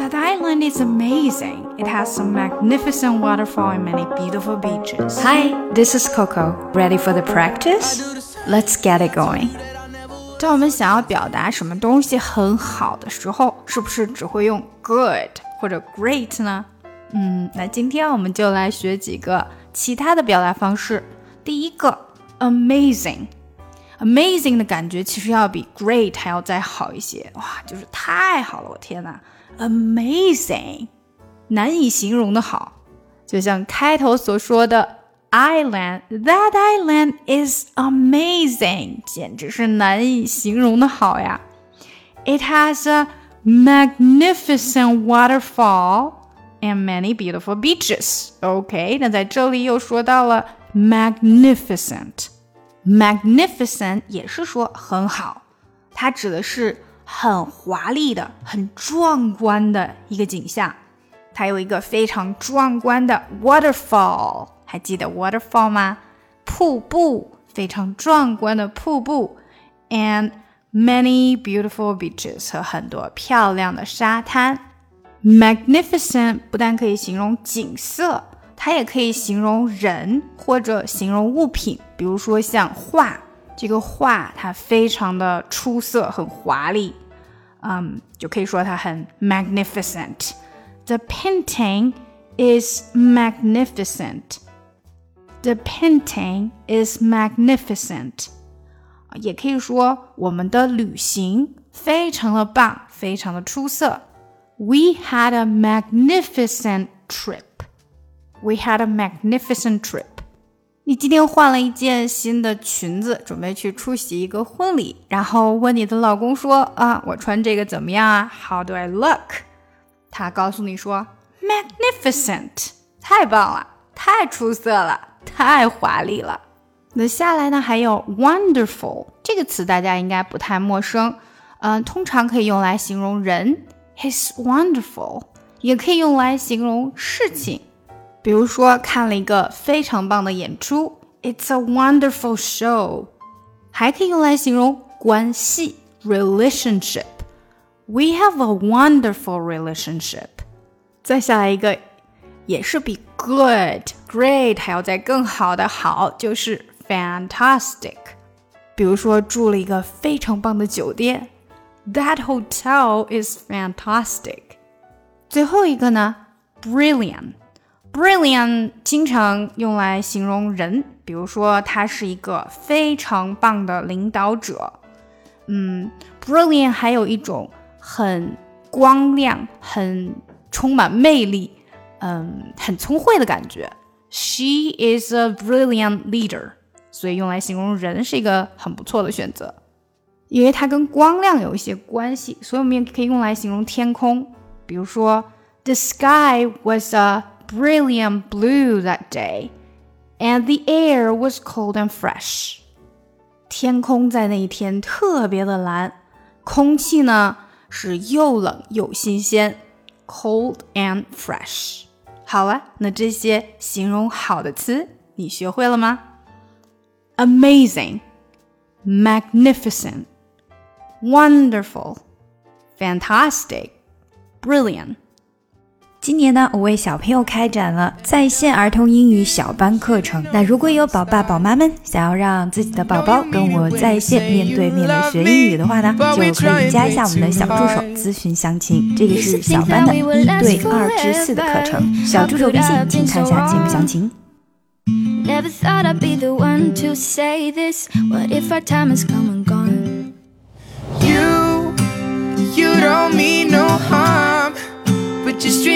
That island is amazing. It has some magnificent waterfall and many beautiful beaches. Hi, this is Coco. Ready for the practice? Let's get it going. 当我们想要表达什么东西很好的时候，是不是只会用 good 或者 great 呢？那今天我们就来学几个其他的表达方式。第一个 amazing 的感觉其实要比 great 还要再好一些，哇，就是太好了，我天哪 amazing 难以形容的好，就像开头所说的 That island is amazing 简直是难以形容的好呀。 It has a magnificent waterfall and many beautiful beaches. OK, 那在这里又说到了 magnificent 也是说很好，它指的是很华丽的很壮观的一个景象，它有一个非常壮观的 waterfall， 还记得 waterfall 吗？瀑布，非常壮观的瀑布 and many beautiful beaches 和很多漂亮的沙滩。 Magnificent 不但可以形容景色，它也可以形容人或者形容物品，比如说像画，这个画它非常的出色很华丽，就可以说它很 magnificent。 The painting is magnificent. The painting is magnificent. 也可以说我们的旅行非常的棒，非常的出色。 We had a magnificent trip.We had a magnificent trip. 你今天换了一件新的裙子，准备去出席一个婚礼，然后问你的老公说我穿这个怎么样啊？ How do I look? 他告诉你说 magnificent， 太棒了，太出色了，太华丽了。那下来呢还有 wonderful 这个词大家应该不太陌生，通常可以用来形容人 He's wonderful， 也可以用来形容事情，比如说看了一个非常棒的演出 It's a wonderful show， 还可以用来形容关系 relationship， We have a wonderful relationship。 再下来一个也是比 good great 还要再更好的好，就是 fantastic， 比如说住了一个非常棒的酒店 That hotel is fantastic。 最后一个呢 Brilliant经常用来形容人，比如说他是一个非常棒的领导者。Brilliant 还有一种很光亮很充满魅力很聪慧的感觉。 She is a brilliant leader， 所以用来形容人是一个很不错的选择，因为它跟光亮有一些关系，所以我们也可以用来形容天空，比如说 The sky was a brilliant blue that day, and the air was cold and fresh. 天空在那一天特别的蓝，空气呢是又冷又新鲜 cold and fresh。 好了，那这些形容好的词你学会了吗？ Amazing, magnificent, wonderful, fantastic, brilliant。 今年呢，我为小朋友开展了在线儿童英语小班课程。那如果有宝爸宝妈们想要让自己的宝宝跟我在线面对面的学英语的话呢，就可以加一下我们的小助手咨询详情。这个是小班的1对2至4的课程，小助手微信请看下节目详情。 Never thought I'd be the one to say this. What if our time has come and gone? You don't mean no harm, but just